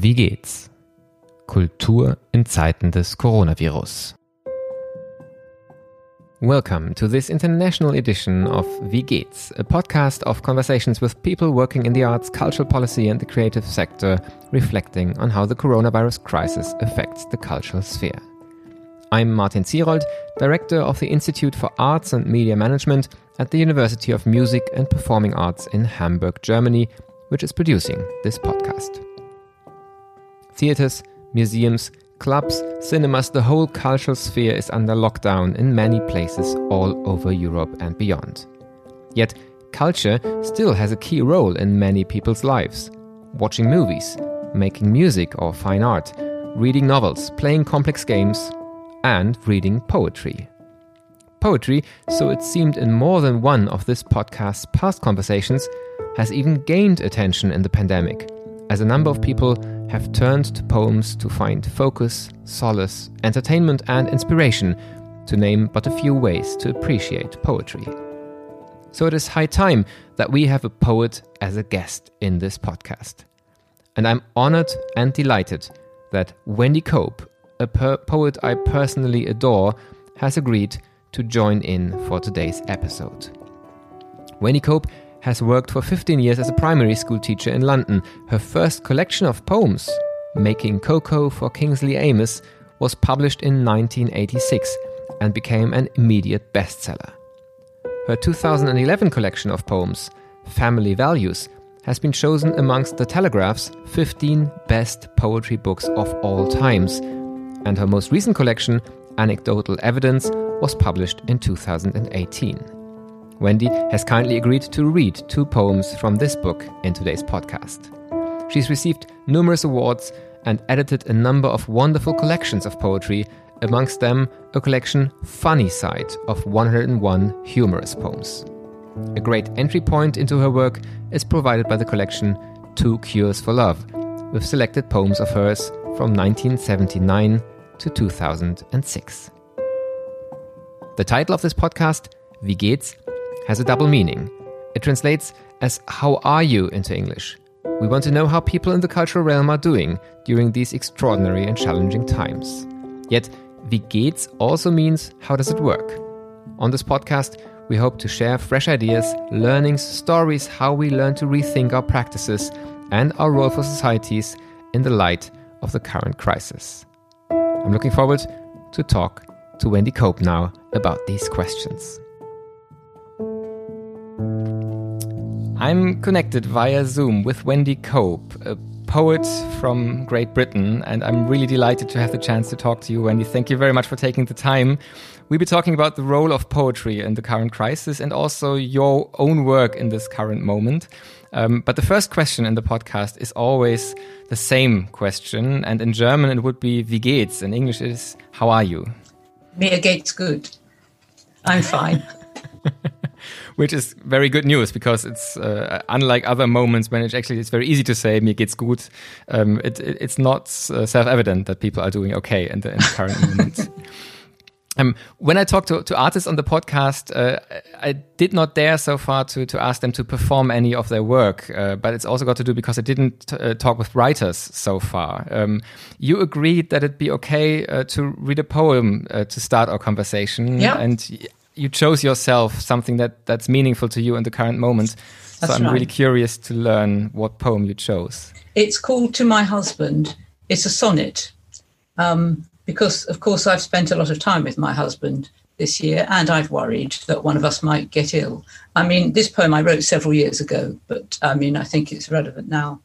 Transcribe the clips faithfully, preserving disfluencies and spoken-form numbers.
Wie geht's? Kultur in Zeiten des Coronavirus. Welcome to this international edition of Wie geht's, a podcast of conversations with people working in the arts, cultural policy and the creative sector, reflecting on how the coronavirus crisis affects the cultural sphere. I'm Martin Zierold, Director of the Institute for Arts and Media Management at the University of Music and Performing Arts in Hamburg, Germany, which is producing this podcast. Theatres, museums, clubs, cinemas, the whole cultural sphere is under lockdown in many places all over Europe and beyond. Yet, culture still has a key role in many people's lives. Watching movies, making music or fine art, reading novels, playing complex games, and reading poetry. Poetry, so it seemed in more than one of this podcast's past conversations, has even gained attention in the pandemic, as a number of people have turned to poems to find focus, solace, entertainment and inspiration, to name but a few ways to appreciate poetry. So it is high time that we have a poet as a guest in this podcast. And I'm honored and delighted that Wendy Cope, a per- poet I personally adore, has agreed to join in for today's episode. Wendy Cope has worked for fifteen years as a primary school teacher in London. Her first collection of poems, Making Cocoa for Kingsley Amis, was published in nineteen eighty-six and became an immediate bestseller. Her two thousand eleven collection of poems, Family Values, has been chosen amongst The Telegraph's fifteen best poetry books of all times, and her most recent collection, Anecdotal Evidence, was published in two thousand eighteen. Wendy has kindly agreed to read two poems from this book in today's podcast. She's received numerous awards and edited a number of wonderful collections of poetry, amongst them a collection Funny Side of one hundred one humorous poems. A great entry point into her work is provided by the collection Two Cures for Love, with selected poems of hers from nineteen seventy-nine to two thousand six. The title of this podcast, Wie geht's?, has a double meaning. It translates as "How are you?" into English. We want to know how people in the cultural realm are doing during these extraordinary and challenging times. Yet, Wie geht's also means "How does it work?" On this podcast, we hope to share fresh ideas, learnings, stories, how we learn to rethink our practices and our role for societies in the light of the current crisis. I'm looking forward to talk to Wendy Cope now about these questions. I'm connected via Zoom with Wendy Cope, a poet from Great Britain, and I'm really delighted to have the chance to talk to you, Wendy. Thank you very much for taking the time. We'll be talking about the role of poetry in the current crisis and also your own work in this current moment. Um, but the first question in the podcast is always the same question, and in German it would be Wie geht's? In English it is How are you? Mir geht's good. I'm fine. Which is very good news, because it's uh, unlike other moments when it actually it's very easy to say mir geht's gut. Um, it, it, it's not uh, self-evident that people are doing okay in the, in the current moment. Um, when I talk to, to artists on the podcast, uh, I did not dare so far to, to ask them to perform any of their work, uh, but it's also got to do because I didn't uh, talk with writers so far. Um, you agreed that it'd be okay uh, to read a poem uh, to start our conversation. Yeah. And you chose yourself something that, that's meaningful to you in the current moment. That's so I'm right. really curious to learn what poem you chose. It's called To My Husband. It's a sonnet. Um, because, of course, I've spent a lot of time with my husband this year, and I've worried that one of us might get ill. I mean, this poem I wrote several years ago, but I mean, I think it's relevant now.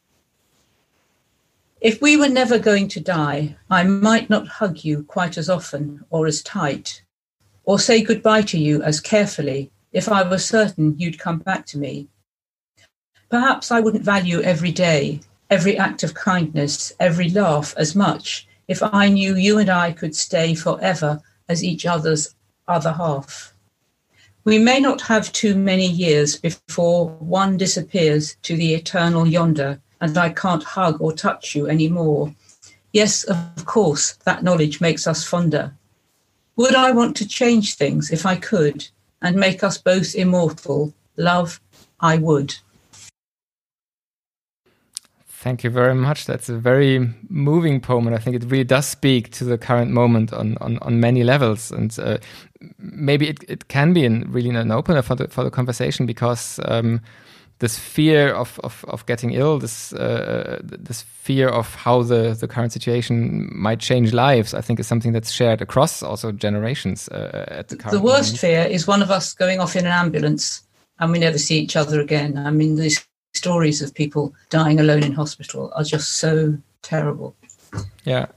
If we were never going to die, I might not hug you quite as often or as tight, or say goodbye to you as carefully if I were certain you'd come back to me. Perhaps I wouldn't value every day, every act of kindness, every laugh as much if I knew you and I could stay forever as each other's other half. We may not have too many years before one disappears to the eternal yonder and I can't hug or touch you anymore. Yes, of course, that knowledge makes us fonder. Would I want to change things if I could and make us both immortal? Love, I would. Thank you very much. That's a very moving poem, and I think it really does speak to the current moment on on, on many levels. And uh, maybe it, it can be an, really an opener for the for the conversation, because um, this fear of, of, of getting ill, this uh, this fear of how the, the current situation might change lives, I think is something that's shared across also generations at the current The worst moment. fear is one of us going off in an ambulance and we never see each other again. I mean, these stories of people dying alone in hospital are just so terrible. Yeah.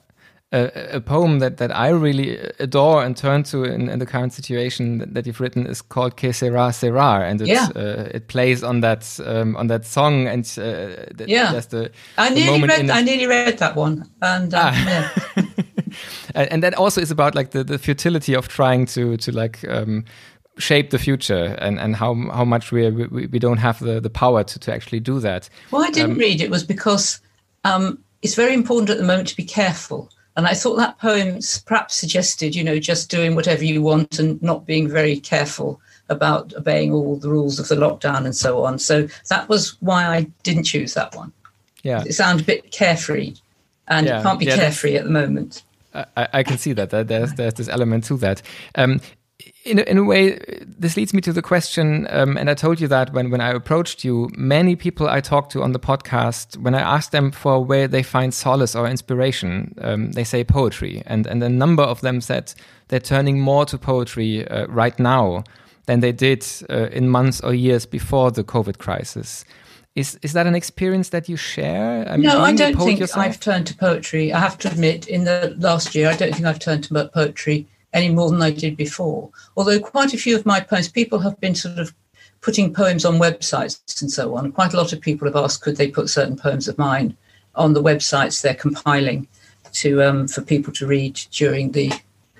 A, a poem that, that I really adore and turn to in, in the current situation that, that you've written is called Que Sera Sera, and it's, yeah. uh, it plays on that um, on that song, and uh, that, yeah, that's the, I the nearly moment read in I nearly read that one, and um, ah. yeah. and, and that also is about like the, the futility of trying to to like um, shape the future, and, and how how much we we, we don't have the, the power to, to actually do that. Well, I didn't um, read it was because um, it's very important at the moment to be careful. And I thought that poem perhaps suggested, you know, just doing whatever you want and not being very careful about obeying all the rules of the lockdown and so on. So that was why I didn't choose that one. Yeah, it sounds a bit carefree, and yeah. it can't be yeah, carefree at the moment. I, I can see that. There's there's this element to that. Um, In a, in a way, this leads me to the question, um, and I told you that when, when I approached you, many people I talked to on the podcast, when I asked them for where they find solace or inspiration, um, they say poetry. And, and a number of them said they're turning more to poetry uh, right now than they did uh, in months or years before the COVID crisis. Is is that an experience that you share? I mean, no, I don't think yourself? I've turned to poetry. I have to admit, in the last year, I don't think I've turned to poetry any more than I did before. Although quite a few of my poems, people have been sort of putting poems on websites and so on. Quite a lot of people have asked, could they put certain poems of mine on the websites they're compiling to um, for people to read during the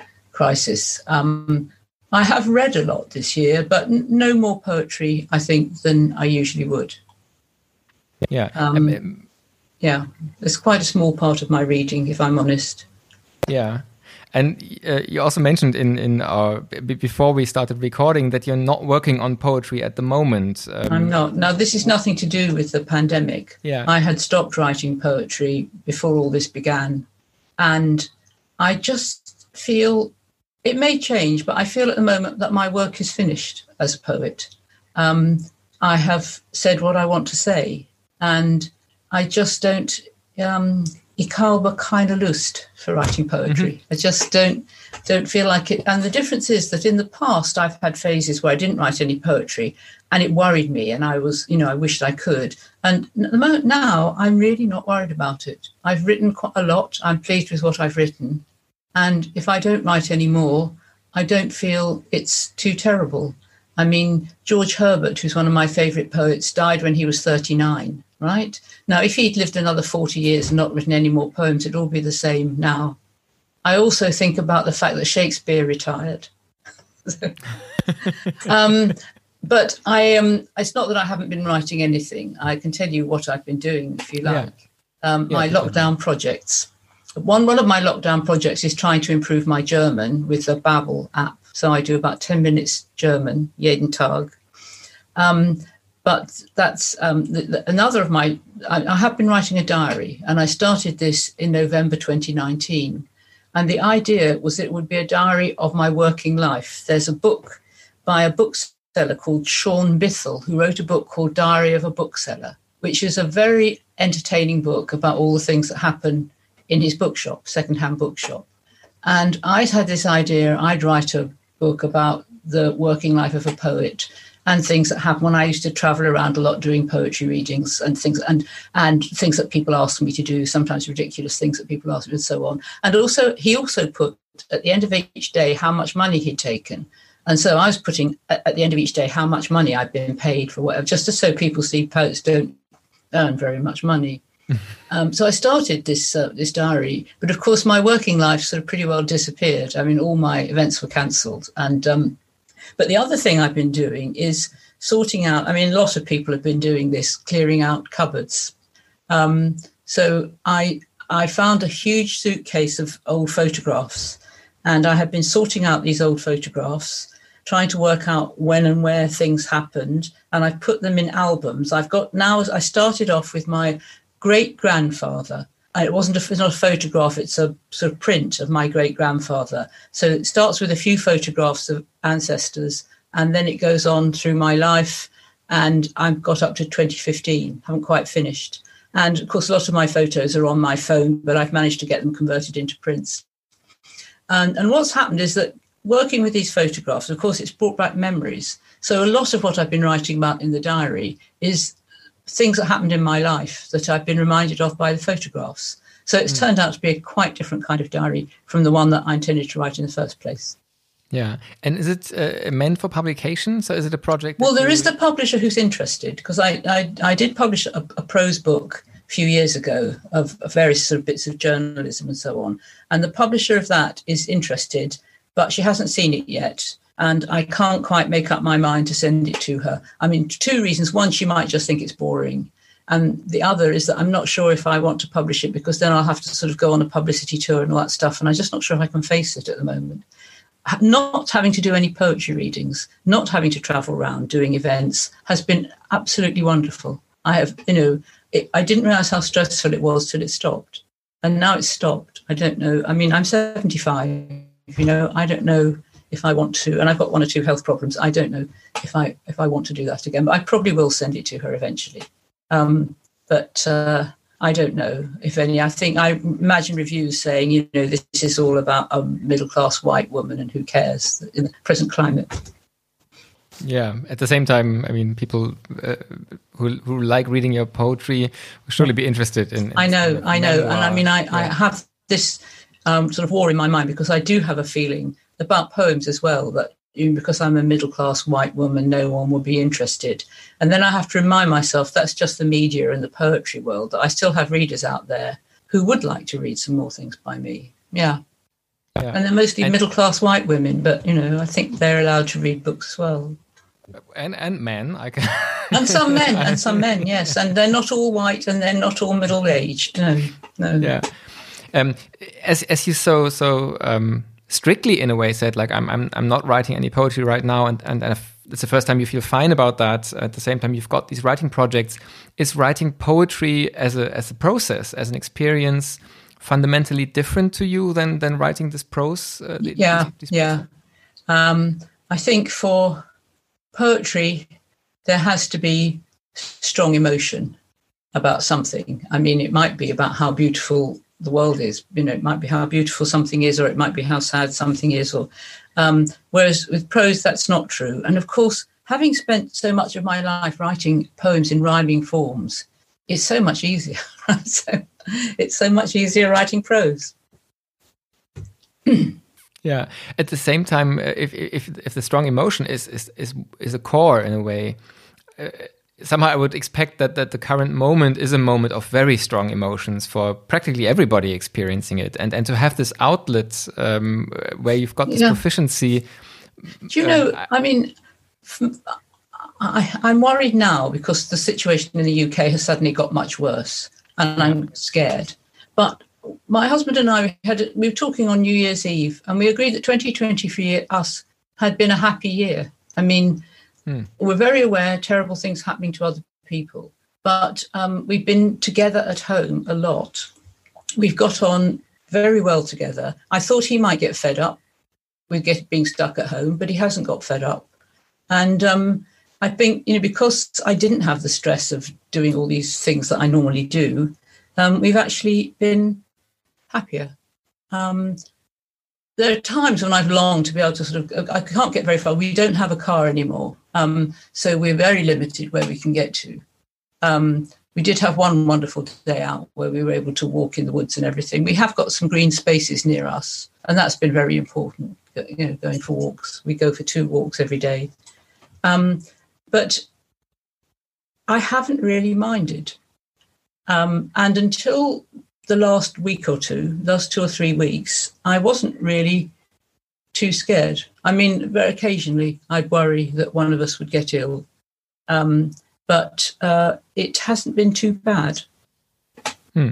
crisis. Um, I have read a lot this year, but n- no more poetry, I think, than I usually would. Yeah. Um, um, yeah, it's quite a small part of my reading, if I'm honest. Yeah. And uh, you also mentioned in in our b- before we started recording that you're not working on poetry at the moment. Um, I'm not. Now, this is nothing to do with the pandemic. Yeah. I had stopped writing poetry before all this began. And I just feel, it may change, but I feel at the moment that my work is finished as a poet. Um, I have said what I want to say. And I just don't... Um, Ich habe keine Lust for writing poetry. Mm-hmm. I just don't don't feel like it. And the difference is that in the past, I've had phases where I didn't write any poetry, and it worried me, and I was, you know, I wished I could. And at the moment now, I'm really not worried about it. I've written quite a lot. I'm pleased with what I've written. And if I don't write any more, I don't feel it's too terrible. I mean, George Herbert, who's one of my favourite poets, died when he was thirty-nine. Right? Now, if he'd lived another forty years and not written any more poems, it'd all be the same now. I also think about the fact that Shakespeare retired. um, but I um, it's not that I haven't been writing anything. I can tell you what I've been doing, if you like. Yeah. Um, yeah, my lockdown projects. One, one of my lockdown projects is trying to improve my German with the Babbel app. So I do about ten minutes German, jeden Tag. Um, But that's um, the, the, another of my, I, I have been writing a diary, and I started this in November twenty nineteen. And the idea was it would be a diary of my working life. There's a book by a bookseller called Sean Bithell, who wrote a book called Diary of a Bookseller, which is a very entertaining book about all the things that happen in his bookshop, secondhand bookshop. And I'd had this idea, I'd write a book about the working life of a poet, and things that happen when I used to travel around a lot doing poetry readings and things and and things that people ask me to do, sometimes ridiculous things that people ask me and so on. And also, he also put at the end of each day how much money he'd taken. And so I was putting at the end of each day how much money I'd been paid for whatever, just so people see poets don't earn very much money. um, so I started this uh, this diary. But of course, my working life sort of pretty well disappeared. I mean, all my events were cancelled. And um But the other thing I've been doing is sorting out, I mean, a lot of people have been doing this, clearing out cupboards. Um, so I I found a huge suitcase of old photographs, and I have been sorting out these old photographs, trying to work out when and where things happened, and I've put them in albums. I've got now, I started off with my great-grandfather. And it wasn't a, it's not a photograph, it's a sort of print of my great-grandfather. So it starts with a few photographs of ancestors, and then it goes on through my life, and I've got up to twenty fifteen, haven't quite finished. And, of course, a lot of my photos are on my phone, but I've managed to get them converted into prints. And, and what's happened is that working with these photographs, of course, it's brought back memories. So a lot of what I've been writing about in the diary is things that happened in my life that I've been reminded of by the photographs. So it's mm. turned out to be a quite different kind of diary from the one that I intended to write in the first place. Yeah. And is it uh, meant for publication? So is it a project? Well, there you... is the publisher who's interested, because I, I, I did publish a, a prose book a few years ago of, of various sort of bits of journalism and so on. And the publisher of that is interested, but she hasn't seen it yet. And I can't quite make up my mind to send it to her. I mean, two reasons. One, she might just think it's boring. And the other is that I'm not sure if I want to publish it, because then I'll have to sort of go on a publicity tour and all that stuff. And I'm just not sure if I can face it at the moment. Not having to do any poetry readings, not having to travel around doing events has been absolutely wonderful. I have, you know, it, I didn't realise how stressful it was till it stopped. And now it's stopped. I don't know. I mean, I'm seventy-five, you know, I don't know if I want to, and I've got one or two health problems. I don't know if I if I want to do that again, but I probably will send it to her eventually. Um, but uh, I don't know if any. I think I imagine reviews saying, you know, this is all about a middle-class white woman and who cares in the present climate. Yeah. At the same time, I mean, people uh, who who like reading your poetry will surely be interested in. in I know, kind of I know, memoir. and I mean, I, yeah. I have this um, sort of war in my mind, because I do have a feeling about poems as well, that because I'm a middle-class white woman, no one will be interested. And then I have to remind myself that's just the media and the poetry world, that I still have readers out there who would like to read some more things by me. Yeah. yeah. And they're mostly and middle-class white women, but, you know, I think they're allowed to read books as well. And and men. I can... and some men, and some men, yes. And they're not all white, and they're not all middle-aged. No, no. Yeah. Um, as, as you so, so... Um, strictly in a way said, like, I'm I'm I'm not writing any poetry right now, and and, and it's the first time you feel fine about that. At the same time, you've got these writing projects. Is writing poetry as a as a process, as an experience, fundamentally different to you than than writing this prose? Uh, yeah, these, these yeah. Um, I think for poetry, there has to be strong emotion about something. I mean, it might be about how beautiful the world is, you know, it might be how beautiful something is, or it might be how sad something is, or um, whereas with prose, that's not true. And of course, having spent so much of my life writing poems in rhyming forms, it's so much easier. so it's so much easier writing prose. Yeah. At the same time, if if if the strong emotion is is is, is a core in a way. Uh, Somehow I would expect that, that the current moment is a moment of very strong emotions for practically everybody experiencing it. And, and to have this outlet um, where you've got this yeah. proficiency. Do you um, know, I mean, I, I'm worried now because the situation in the U K has suddenly got much worse, and I'm scared. But my husband and I, had we were talking on New Year's Eve, and we agreed that twenty twenty for us had been a happy year. I mean, Hmm. we're very aware terrible things happening to other people, but um, we've been together at home a lot. We've got on very well together. I thought he might get fed up with get, being stuck at home, but he hasn't got fed up. And um, I think, you know, because I didn't have the stress of doing all these things that I normally do, um, we've actually been happier. Um, There are times when I've longed to be able to sort of, I can't get very far. We don't have a car anymore. Um, so we're very limited where we can get to. Um, we did have one wonderful day out where we were able to walk in the woods and everything. We have got some green spaces near us, and that's been very important, you know, going for walks. We go for two walks every day. Um, but I haven't really minded. Um, and until the last week or two, last two or three weeks, I wasn't really too scared. I mean, very occasionally I'd worry that one of us would get ill, um, but uh, it hasn't been too bad. Hmm.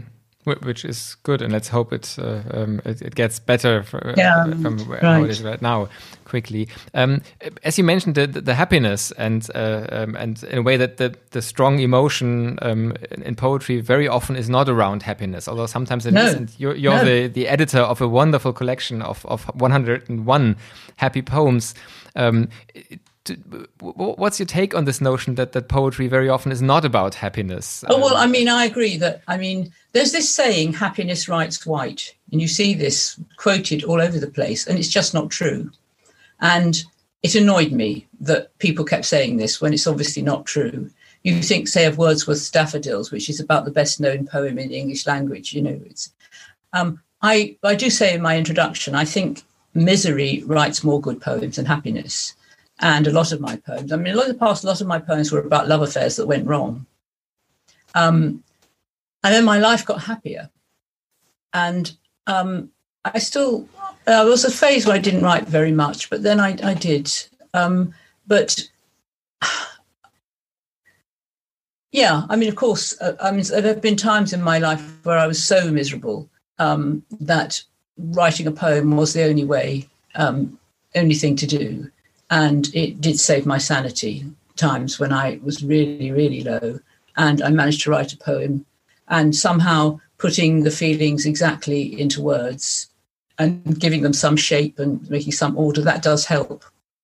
which is good, and let's hope it uh, um, it, it gets better for, yeah, uh, from right. how it is right now quickly. Um, as you mentioned, the, the happiness and uh, um, and in a way that the, the strong emotion um, in, in poetry very often is not around happiness, although sometimes it no. is. And you're, you're no. the, the editor of a wonderful collection of, of one hundred and one happy poems. Um, What's your take on this notion that, that poetry very often is not about happiness? Oh, well, I mean, I agree that, I mean, there's this saying, happiness writes white, and you see this quoted all over the place, and it's just not true. And it annoyed me that people kept saying this when it's obviously not true. You think, say, of Wordsworth's Daffodils, which is about the best known poem in the English language, you know, it's, um, I, I do say in my introduction, I think misery writes more good poems than happiness. And a lot of my poems, I mean, a lot of the past, a lot of my poems were about love affairs that went wrong. Um, and then my life got happier. And um, I still, there was a phase where I didn't write very much, but then I, I did. Um, but yeah, I mean, of course, uh, I mean, there have been times in my life where I was so miserable um, that writing a poem was the only way, um, only thing to do. And it did save my sanity times when I was really, really low. And I managed to write a poem, and somehow putting the feelings exactly into words and giving them some shape and making some order, that does help.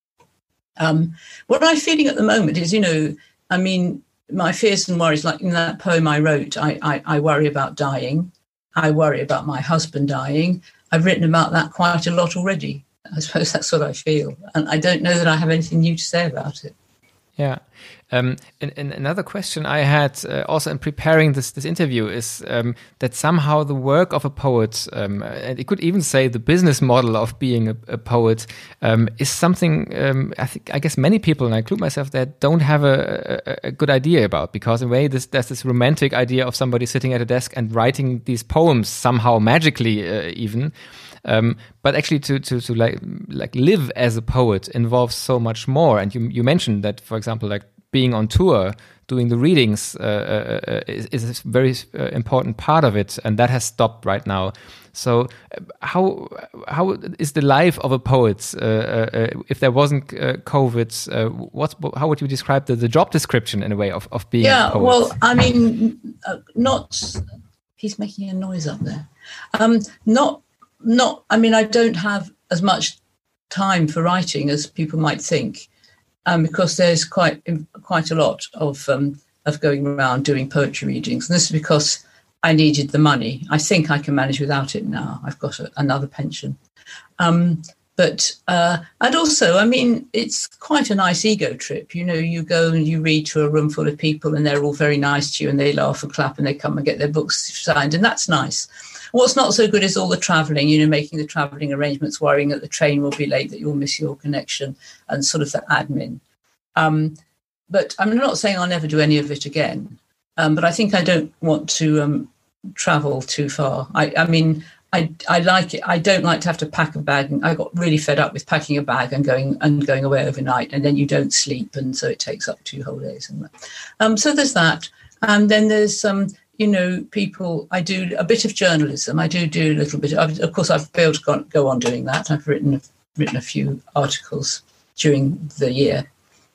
Um, what I'm feeling at the moment is, you know, I mean, my fears and worries, like in that poem I wrote, I, I, I worry about dying. I worry about my husband dying. I've written about that quite a lot already. I suppose that's what I feel. And I don't know that I have anything new to say about it. Yeah. Um, and, and another question I had uh, also in preparing this this interview is um, that somehow the work of a poet, um, and it could even say the business model of being a, a poet, um, is something um, I think I guess many people, and I include myself, that don't have a, a, a good idea about, because in a way this, there's this romantic idea of somebody sitting at a desk and writing these poems somehow magically uh, even. Um, but actually, to to to like like live as a poet involves so much more. And you you mentioned that, for example, like being on tour, doing the readings uh, uh, is, is a very uh, important part of it, and that has stopped right now. So, uh, how how is the life of a poet uh, uh, if there wasn't uh, COVID? Uh, what how would you describe the, the job description in a way of of being yeah, a poet? Well, I mean, uh, not. He's making a noise up there. Um, not. Not, I mean, I don't have as much time for writing as people might think, um, because there's quite quite a lot of um, of going around doing poetry readings. And this is because I needed the money. I think I can manage without it now. I've got a, another pension. Um, but, uh, and also, I mean, it's quite a nice ego trip. You know, you go and you read to a room full of people and they're all very nice to you and they laugh and clap and they come and get their books signed. And that's nice. What's not so good is all the travelling, you know, making the travelling arrangements, worrying that the train will be late, that you'll miss your connection, and sort of the admin. Um, but I'm not saying I'll never do any of it again. Um, but I think I don't want to um, travel too far. I, I mean, I, I like it. I don't like to have to pack a bag. And I got really fed up with packing a bag and going and going away overnight, and then you don't sleep, and so it takes up two whole days. And um, so there's that. And then there's some. Um, You know, people, I do a bit of journalism. I do do a little bit. Of, of course, I've been able to go, go on doing that. I've written written a few articles during the year.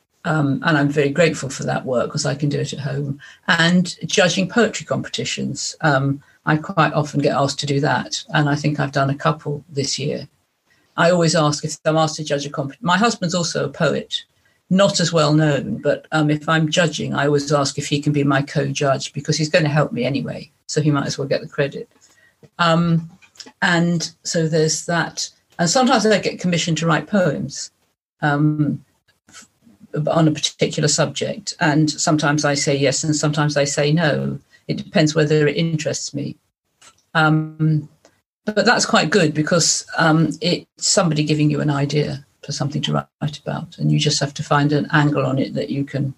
Um, and I'm very grateful for that work because I can do it at home. And judging poetry competitions. Um, I quite often get asked to do that. And I think I've done a couple this year. I always ask if I'm asked to judge a competition. My husband's also a poet. Not as well known, but um, if I'm judging, I always ask if he can be my co-judge because he's going to help me anyway, so he might as well get the credit. Um, and so there's that. And sometimes I get commissioned to write poems um, on a particular subject, and sometimes I say yes, and sometimes I say no. It depends whether it interests me. Um, but that's quite good because um, it's somebody giving you an idea for something to write about, and you just have to find an angle on it that you can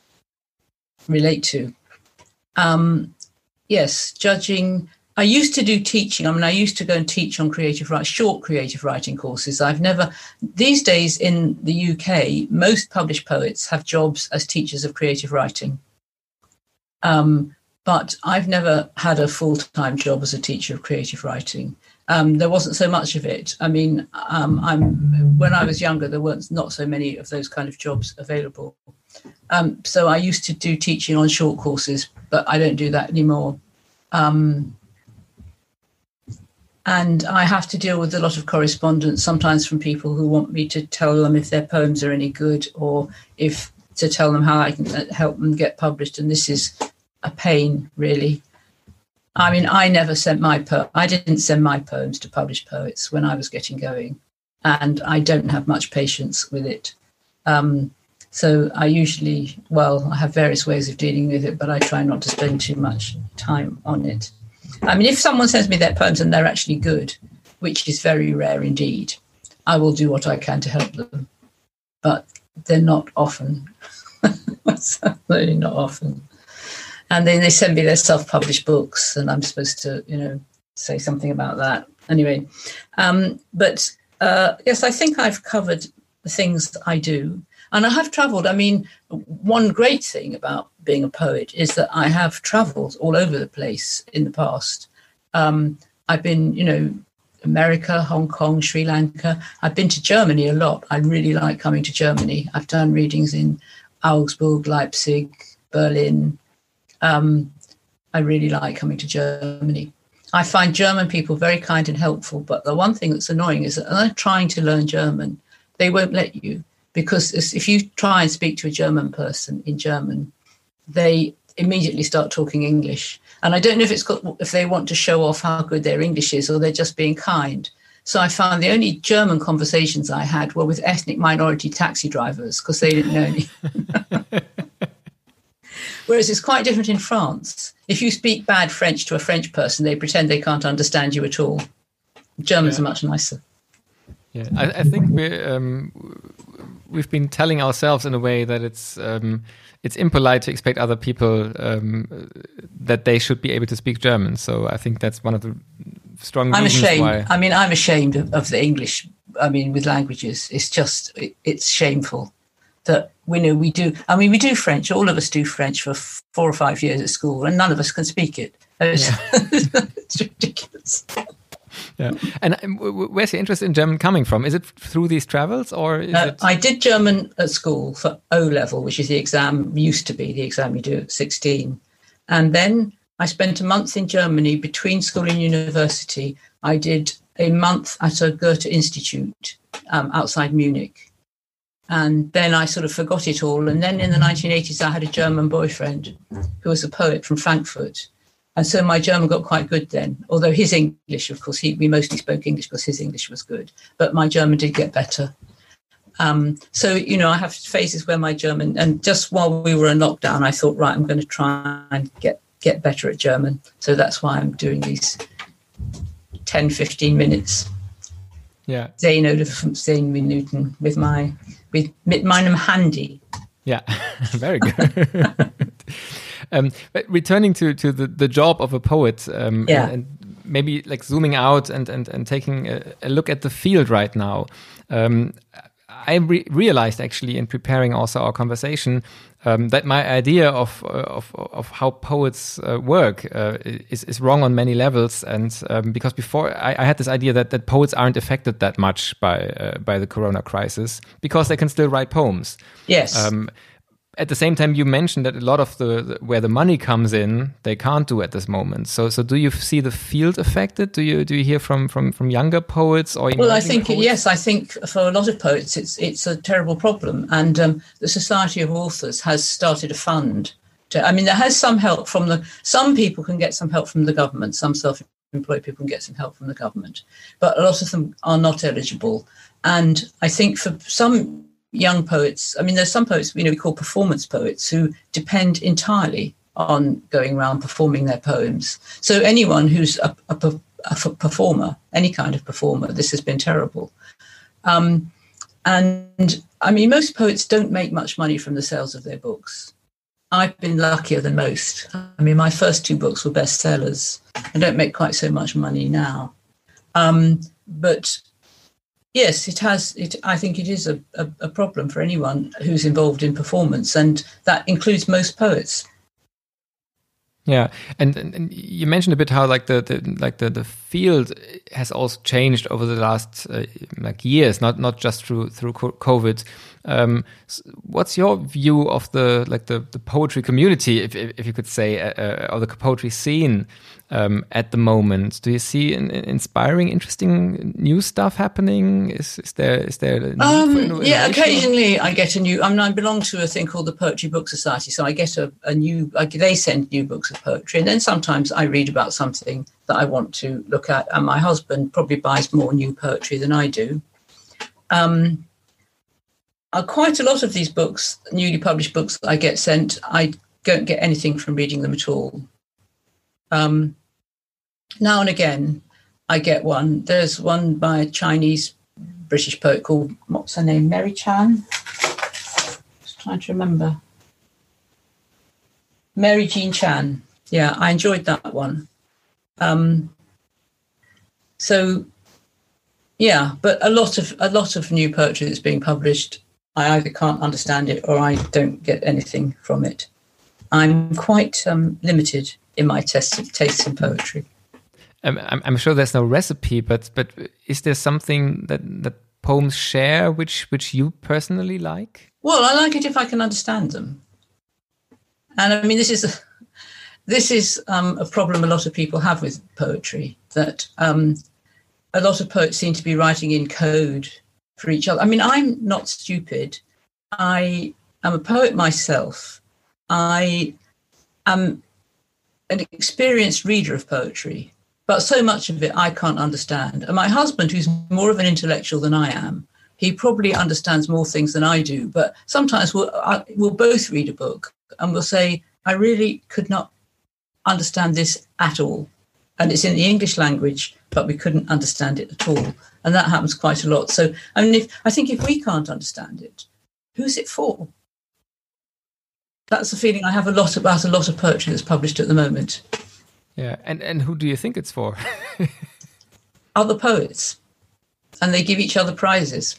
relate to. Um, yes, judging. I used to do teaching. I mean, I used to go and teach on creative writing, short creative writing courses. I've never, these days in the U K, most published poets have jobs as teachers of creative writing. Um, but I've never had a full-time job as a teacher of creative writing. Um, there wasn't so much of it. I mean, um, I'm when I was younger, there weren't not so many of those kind of jobs available. Um, so I used to do teaching on short courses, but I don't do that anymore. Um, and I have to deal with a lot of correspondence, sometimes from people who want me to tell them if their poems are any good, or if to tell them how I can help them get published. And this is a pain, really. I mean, I never sent my po- I didn't send my poems to published poets when I was getting going, and I don't have much patience with it. Um, so I usually, well, I have various ways of dealing with it, but I try not to spend too much time on it. I mean, if someone sends me their poems and they're actually good, which is very rare indeed, I will do what I can to help them. But they're not often. Certainly not often. And then they send me their self-published books, and I'm supposed to, you know, say something about that. Anyway, um, but uh, yes, I think I've covered the things that I do. And I have travelled. I mean, one great thing about being a poet is that I have travelled all over the place in the past. Um, I've been, you know, America, Hong Kong, Sri Lanka. I've been to Germany a lot. I really like coming to Germany. I've done readings in Augsburg, Leipzig, Berlin. Um, I really like coming to Germany. I find German people very kind and helpful, but the one thing that's annoying is that when they're trying to learn German, they won't let you, because if you try and speak to a German person in German, they immediately start talking English. And I don't know if it's got, if they want to show off how good their English is, or they're just being kind. So I found the only German conversations I had were with ethnic minority taxi drivers, because they didn't know anything. Whereas it's quite different in France. If you speak bad French to a French person, they pretend they can't understand you at all. Germans yeah. are much nicer. Yeah, I, I think we're, um, we've been telling ourselves in a way that it's um, it's impolite to expect other people um, that they should be able to speak German. So I think that's one of the strong I'm reasons ashamed. why. I mean, I'm ashamed of, of the English. I mean, with languages, it's just it, it's shameful that we know we do. I mean, we do French. All of us do French for f- four or five years at school, and none of us can speak it. It's, yeah. It's ridiculous. Yeah, and where's your interest in German coming from? Is it through these travels, or is uh, it? I did German at school for O level, which is the exam used to be the exam you do at sixteen, and then I spent a month in Germany between school and university. I did a month at a Goethe Institute um, outside Munich. And then I sort of forgot it all. And then in the nineteen eighties, I had a German boyfriend who was a poet from Frankfurt. And so my German got quite good then, although his English, of course, he, we mostly spoke English because his English was good. But my German did get better. Um, so, you know, I have phases where my German, and just while we were in lockdown, I thought, right, I'm going to try and get, get better at German. So that's why I'm doing these ten, fifteen minutes. Yeah. Zehn oder fünfzehn Minuten with my, with, mit meinem Handy. Yeah, very good. um, but returning to, to the, the job of a poet, um, yeah. and, and maybe like zooming out and, and, and taking a, a look at the field right now, um, I re- realized actually in preparing also our conversation um, that my idea of uh, of of how poets uh, work uh, is is wrong on many levels, and um, because before I, I had this idea that, that poets aren't affected that much by uh, by the Corona crisis because they can still write poems. Yes. Um, At the same time, you mentioned that a lot of the, the where the money comes in, they can't do at this moment. So, so do you see the field affected? Do you do you hear from from, from younger poets or? Well, I think poets? yes. I think for a lot of poets, it's it's a terrible problem, and um, the Society of Authors has started a fund. To, I mean, there has some help from the. Some people can get some help from the government. Some self-employed people can get some help from the government, but a lot of them are not eligible. And I think for some young poets, I mean, there's some poets, you know, we call performance poets who depend entirely on going around performing their poems. So anyone who's a, a, a performer, any kind of performer, this has been terrible. Um, and I mean, most poets don't make much money from the sales of their books. I've been luckier than most. I mean, my first two books were bestsellers. I don't make quite so much money now. Um, but yes, it has. It, I think it is a, a, a problem for anyone who's involved in performance, and that includes most poets. Yeah, and, and, and you mentioned a bit how like the, the like the, the field has also changed over the last uh, like years, not not just through through COVID. Um, what's your view of the like the, the poetry community, if if you could say, uh, or the poetry scene um, at the moment? Do you see an, an inspiring, interesting new stuff happening? Is is there is there a need um, for innovation? Yeah, occasionally I get a new. I mean, I belong to a thing called the Poetry Book Society, so I get a, a new. Like they send new books of poetry, and then sometimes I read about something that I want to look at. And my husband probably buys more new poetry than I do. Um, Uh, quite a lot of these books, newly published books that I get sent, I don't get anything from reading them at all. Um, now and again, I get one. There's one by a Chinese British poet called, what's her name, Mary Chan? Just trying to remember. Mary Jean Chan. Yeah, I enjoyed that one. Um, so, yeah, but a lot of a lot of new poetry that's being published, I either can't understand it or I don't get anything from it. I'm quite um, limited in my taste, tastes in poetry. I'm, I'm sure there's no recipe, but but is there something that, that poems share which which you personally like? Well, I like it if I can understand them. And I mean, this is a, this is um, a problem a lot of people have with poetry, that um, a lot of poets seem to be writing in code for each other. I mean, I'm not stupid. I am a poet myself. I am an experienced reader of poetry, but so much of it I can't understand. And my husband, who's more of an intellectual than I am, he probably understands more things than I do. But sometimes we'll, I, we'll both read a book and we'll say, I really could not understand this at all. And it's in the English language, but we couldn't understand it at all. And that happens quite a lot. So, I mean, if, I think if we can't understand it, who's it for? That's the feeling I have a lot about a lot of poetry that's published at the moment. Yeah, and, and who do you think it's for? Other poets. And they give each other prizes.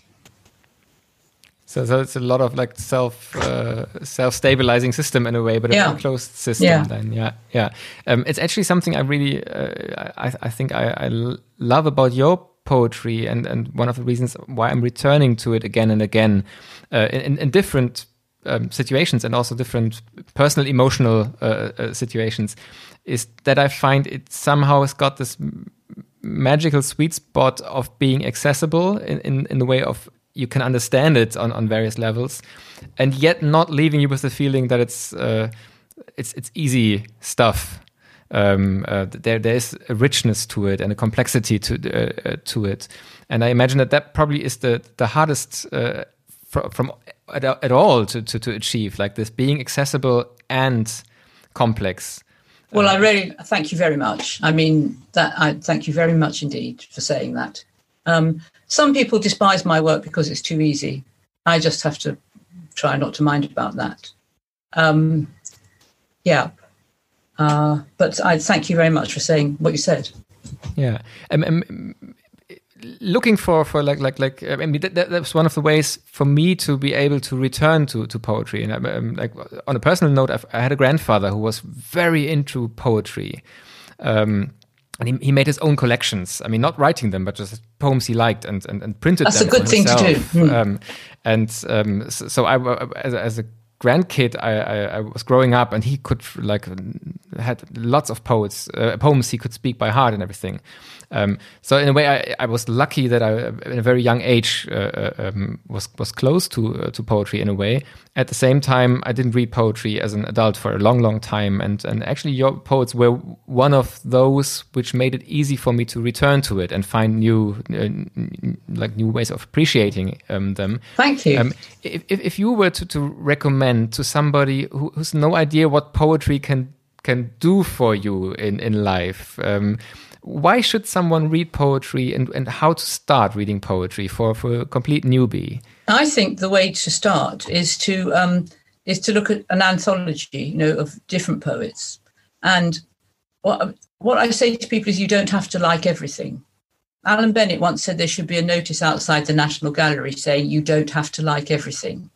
So, so it's a lot of like self uh, self stabilizing system in a way, but yeah. a closed system. Yeah. Then, yeah, yeah. Um, it's actually something I really, uh, I, I think I, I love about your poetry, and, and one of the reasons why I'm returning to it again and again, uh, in, in different um, situations and also different personal, emotional uh, uh, situations, is that I find it somehow has got this magical sweet spot of being accessible in, in, in the way of you can understand it on, on various levels, and yet not leaving you with the feeling that it's uh, it's it's easy stuff. Um, uh, there there is a richness to it and a complexity to uh, uh, to it, and I imagine that that probably is the the hardest uh, fr- from at, at all to, to to achieve, like this being accessible and complex. Well, I really thank you very much. I mean, that I thank you very much indeed for saying that. Um, some people despise my work because it's too easy. I just have to try not to mind about that. Um, yeah. Uh, but I thank you very much for saying what you said. Yeah. Um, um, looking for, for like, like, like, I mean, that, that was one of the ways for me to be able to return to, to poetry. And um, like on a personal note, I've, I had a grandfather who was very into poetry. Um, and he, he made his own collections. I mean, not writing them, but just poems he liked and, and, and printed That's them. That's a good thing himself. to do. Mm. Um, and um, so, so I, as a, as a grandkid, I, I, I was growing up, and he could like had lots of poets, uh, poems he could speak by heart and everything. Um, so in a way, I, I was lucky that I, in a very young age, uh, um, was was close to uh, to poetry in a way. At the same time, I didn't read poetry as an adult for a long, long time, and and actually, your poets were one of those which made it easy for me to return to it and find new, uh, like new ways of appreciating um, them. Thank you. Um, if if you were to, to recommend to somebody who, who's no idea what poetry can can do for you in in life. Um, Why should someone read poetry, and, and how to start reading poetry for, for a complete newbie? I think the way to start is to um, is to look at an anthology, you know, of different poets. And what what I say to people is, you don't have to like everything. Alan Bennett once said there should be a notice outside the National Gallery saying you don't have to like everything.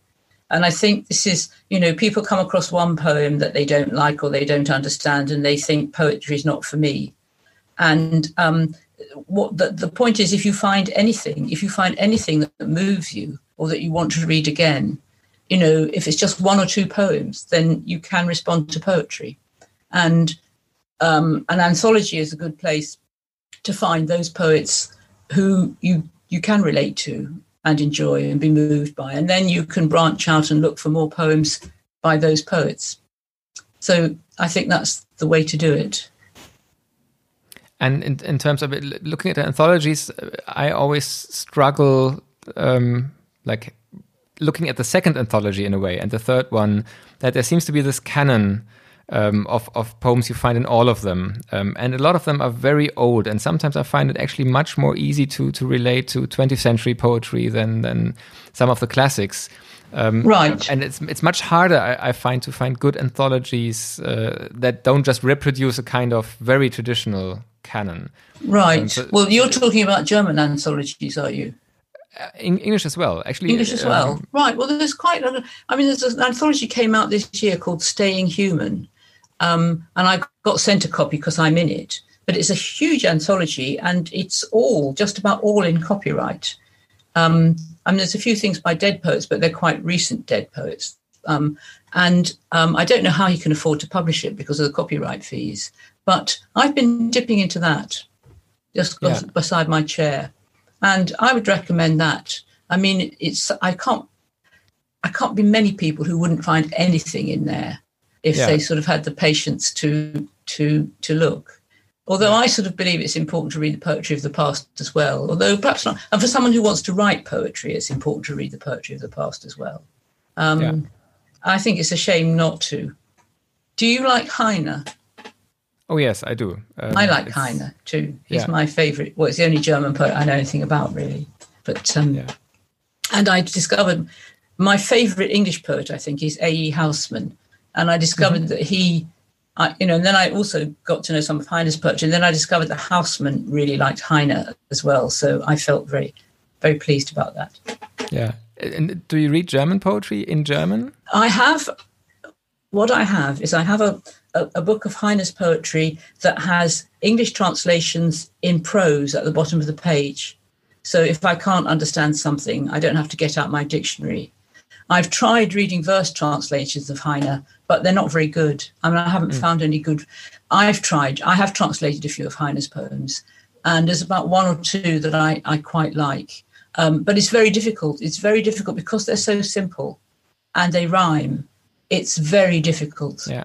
And I think this is, you know, people come across one poem that they don't like or they don't understand, and they think poetry is not for me. And um, what the, the point is, if you find anything, if you find anything that moves you or that you want to read again, you know, if it's just one or two poems, then you can respond to poetry. And um, an anthology is a good place to find those poets who you you can relate to and enjoy and be moved by. And then you can branch out and look for more poems by those poets. So I think that's the way to do it. And in, in terms of it, looking at the anthologies, I always struggle, um, like looking at the second anthology in a way, and the third one, that there seems to be this canon um, of, of poems you find in all of them. Um, and a lot of them are very old, and sometimes I find it actually much more easy to to relate to twentieth century poetry than, than some of the classics. Um, right. And it's it's much harder, I, I find, to find good anthologies uh, that don't just reproduce a kind of very traditional canon. Right. Um, so, well, you're talking about German anthologies, are you? Uh, in English as well, actually. English as well. Um, right. Well, there's quite a lot. I mean, there's an anthology came out this year called Staying Human. Um, and I got sent a copy because I'm in it. But it's a huge anthology, and it's all, just about all in copyright. Um, I mean, there's a few things by dead poets, but they're quite recent dead poets. Um, and um, I don't know how he can afford to publish it because of the copyright fees. But I've been dipping into that just yeah. beside my chair. And I would recommend that. I mean, it's I can't I can't be many people who wouldn't find anything in there if yeah. they sort of had the patience to to to look. Although I sort of believe it's important to read the poetry of the past as well. Although perhaps not. And for someone who wants to write poetry, it's important to read the poetry of the past as well. Um, yeah. I think it's a shame not to. Do you like Heine? Oh, yes, I do. Um, I like Heine too. He's yeah. my favourite. Well, it's the only German poet I know anything about, really. But um, yeah. And I discovered my favourite English poet, I think, is A E Housman. And I discovered mm-hmm. that he, I, you know, and then I also got to know some of Heine's poetry. And then I discovered that Housman really liked Heine as well. So I felt very, very pleased about that. Yeah. And do you read German poetry in German? I have. What I have is I have a, a, a book of Heine's poetry that has English translations in prose at the bottom of the page. So if I can't understand something, I don't have to get out my dictionary. I've tried reading verse translations of Heine, but they're not very good. I mean, I haven't mm. found any good. I've tried. I have translated a few of Heine's poems, and there's about one or two that I, I quite like. Um, but it's very difficult. It's very difficult because they're so simple and they rhyme. It's very difficult. Yeah.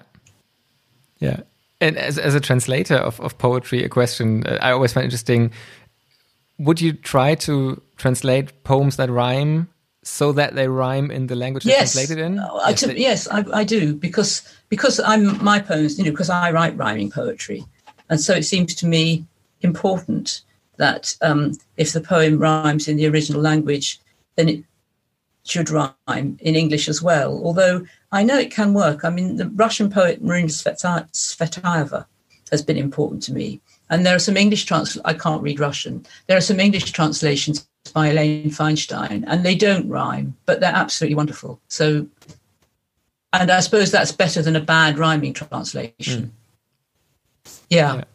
Yeah. And as as a translator of, of poetry, a question I always find interesting, would you try to translate poems that rhyme so that they rhyme in the language they're yes. translated in? I yes, to, yes I, I do, because because I'm my poems, you know, because I write rhyming poetry. And so it seems to me important that um, if the poem rhymes in the original language, then it should rhyme in English as well. Although I know it can work. I mean, the Russian poet Marina Tsvetaeva has been important to me. And there are some English trans. I can't read Russian. There are some English translations by Elaine Feinstein, and they don't rhyme, but they're absolutely wonderful. So, and I suppose that's better than a bad rhyming translation. Mm. Yeah. yeah.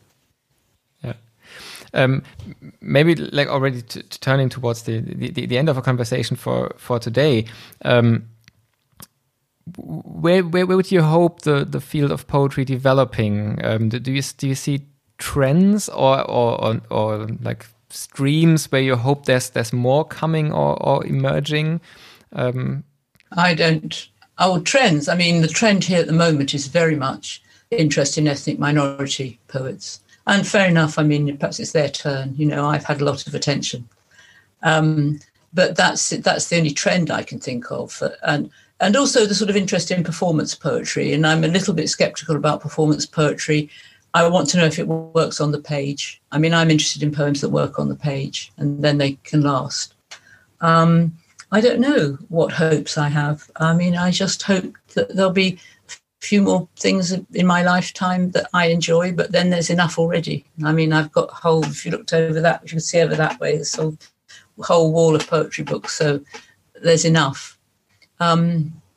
Um, maybe like already t- t- turning towards the, the, the end of our conversation for, for today, um, where, where where would you hope the, the field of poetry developing? Um, do, do you do you see trends or or, or or like streams where you hope there's there's more coming or, or emerging? Um, I don't. Oh, trends. I mean, the trend here at the moment is very much interest in ethnic minority poets. And fair enough, I mean, perhaps it's their turn. You know, I've had a lot of attention. Um, but that's that's the only trend I can think of. And and also the sort of interest in performance poetry. And I'm a little bit sceptical about performance poetry. I want to know if it works on the page. I mean, I'm interested in poems that work on the page and then they can last. Um, I don't know what hopes I have. I mean, I just hope that there'll be few more things in my lifetime that I enjoy, but then there's enough already. I mean, I've got a whole, if you looked over that, if you could see over that way, there's a whole wall of poetry books, so there's enough. Um,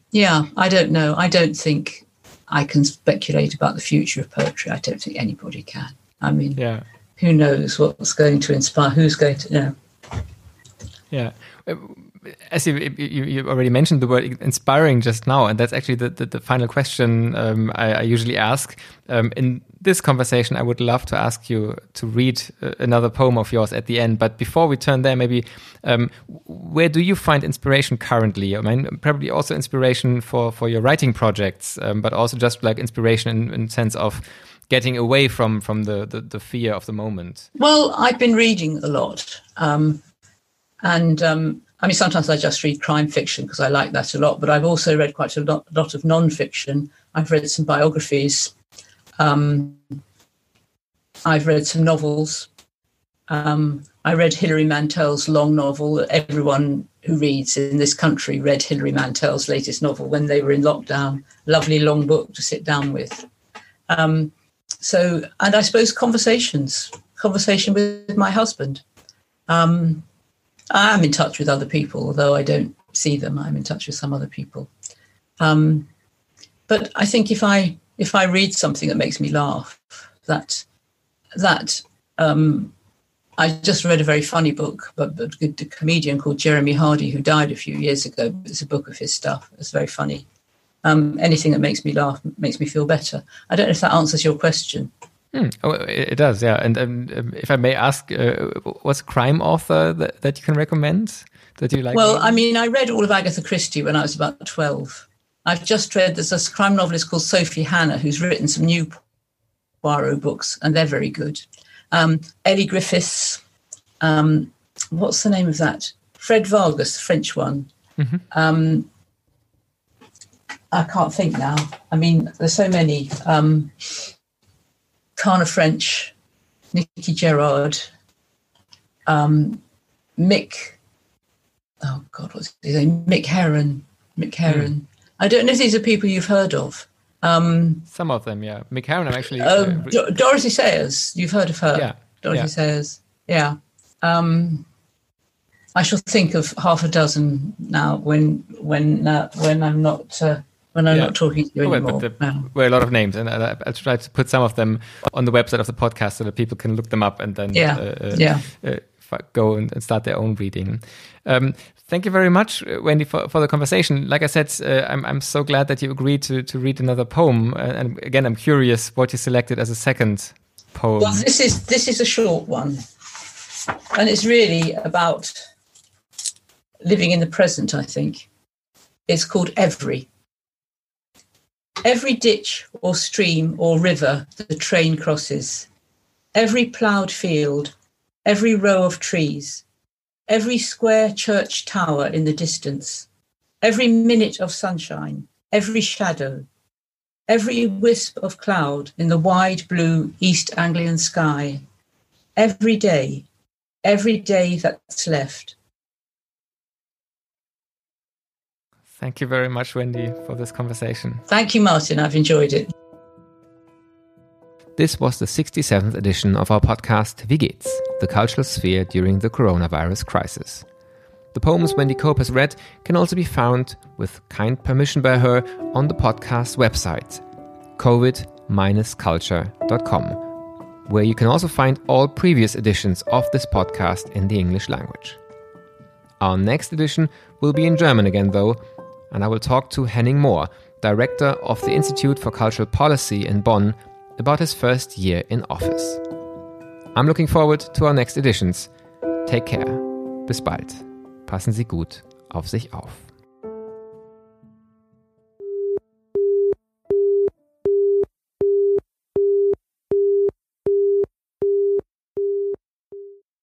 Yeah, I don't know. I don't think I can speculate about the future of poetry. I don't think anybody can. I mean, yeah. who knows what's going to inspire, who's going to know. Yeah. As you, you, you already mentioned the word inspiring just now, and that's actually the, the, the final question um, I, I usually ask. Um, in this conversation, I would love to ask you to read uh, another poem of yours at the end. But before we turn there, maybe um, where do you find inspiration currently? I mean, probably also inspiration for, for your writing projects, um, but also just like inspiration in, in sense of getting away from, from the, the, the fear of the moment. Well, I've been reading a lot. Um, and um, I mean, sometimes I just read crime fiction because I like that a lot, but I've also read quite a lot, lot of non-fiction. I've read some biographies. Um, I've read some novels. Um, I read Hilary Mantel's long novel. Everyone who reads in this country read Hilary Mantel's latest novel when they were in lockdown. Lovely long book to sit down with. Um, so, and I suppose conversations, conversation with my husband. Um, I am in touch with other people, although I don't see them. I'm in touch with some other people. Um, but I think if I if I read something that makes me laugh, that that um, I just read a very funny book, but, but a comedian called Jeremy Hardy who died a few years ago. It's a book of his stuff. It's very funny. Um, anything that makes me laugh makes me feel better. I don't know if that answers your question. Hmm. Oh, it does, yeah. And um, if I may ask, uh, what's a crime author that, that you can recommend that you like? Well, reading? I mean, I read all of Agatha Christie when I was about twelve. I've just read, there's a crime novelist called Sophie Hannah who's written some new Poirot books, and they're very good. Um, Ellie Griffiths, um, what's the name of that? Fred Vargas, the French one. Mm-hmm. Um, I can't think now. I mean, there's so many. Um, Tana French, Nicky Gerard, um, Mick, oh God, what's his name? Mick Heron. Mick Heron. Mm. I don't know if these are people you've heard of. Um, Some of them, yeah. Mick Heron, I'm actually... Uh, uh, Do- Dorothy Sayers, you've heard of her. Yeah. Dorothy yeah. Sayers, yeah. Um, I shall think of half a dozen now when when uh, when I'm not... Uh, When I'm yeah. not talking to you oh, anymore. But there no. were a lot of names, and I, I'll try to put some of them on the website of the podcast so that people can look them up and then yeah. Uh, yeah. Uh, go and, and start their own reading. Um, thank you very much, Wendy, for, for the conversation. Like I said, uh, I'm I'm so glad that you agreed to to read another poem. Uh, and again, I'm curious what you selected as a second poem. Well, this is this is a short one, and it's really about living in the present. I think it's called Every. Every ditch or stream or river the train crosses, every ploughed field, every row of trees, every square church tower in the distance, every minute of sunshine, every shadow, every wisp of cloud in the wide blue East Anglian sky, every day, every day that's left. Thank you very much, Wendy, for this conversation. Thank you, Martin. I've enjoyed it. This was the sixty-seventh edition of our podcast, Wie geht's? The Cultural Sphere During the Coronavirus Crisis. The poems Wendy Cope has read can also be found, with kind permission by her, on the podcast website, covid dash culture dot com, where you can also find all previous editions of this podcast in the English language. Our next edition will be in German again, though, and I will talk to Henning Mohr, director of the Institute for Cultural Policy in Bonn, about his first year in office. I'm looking forward to our next editions. Take care. Bis bald. Passen Sie gut auf sich auf.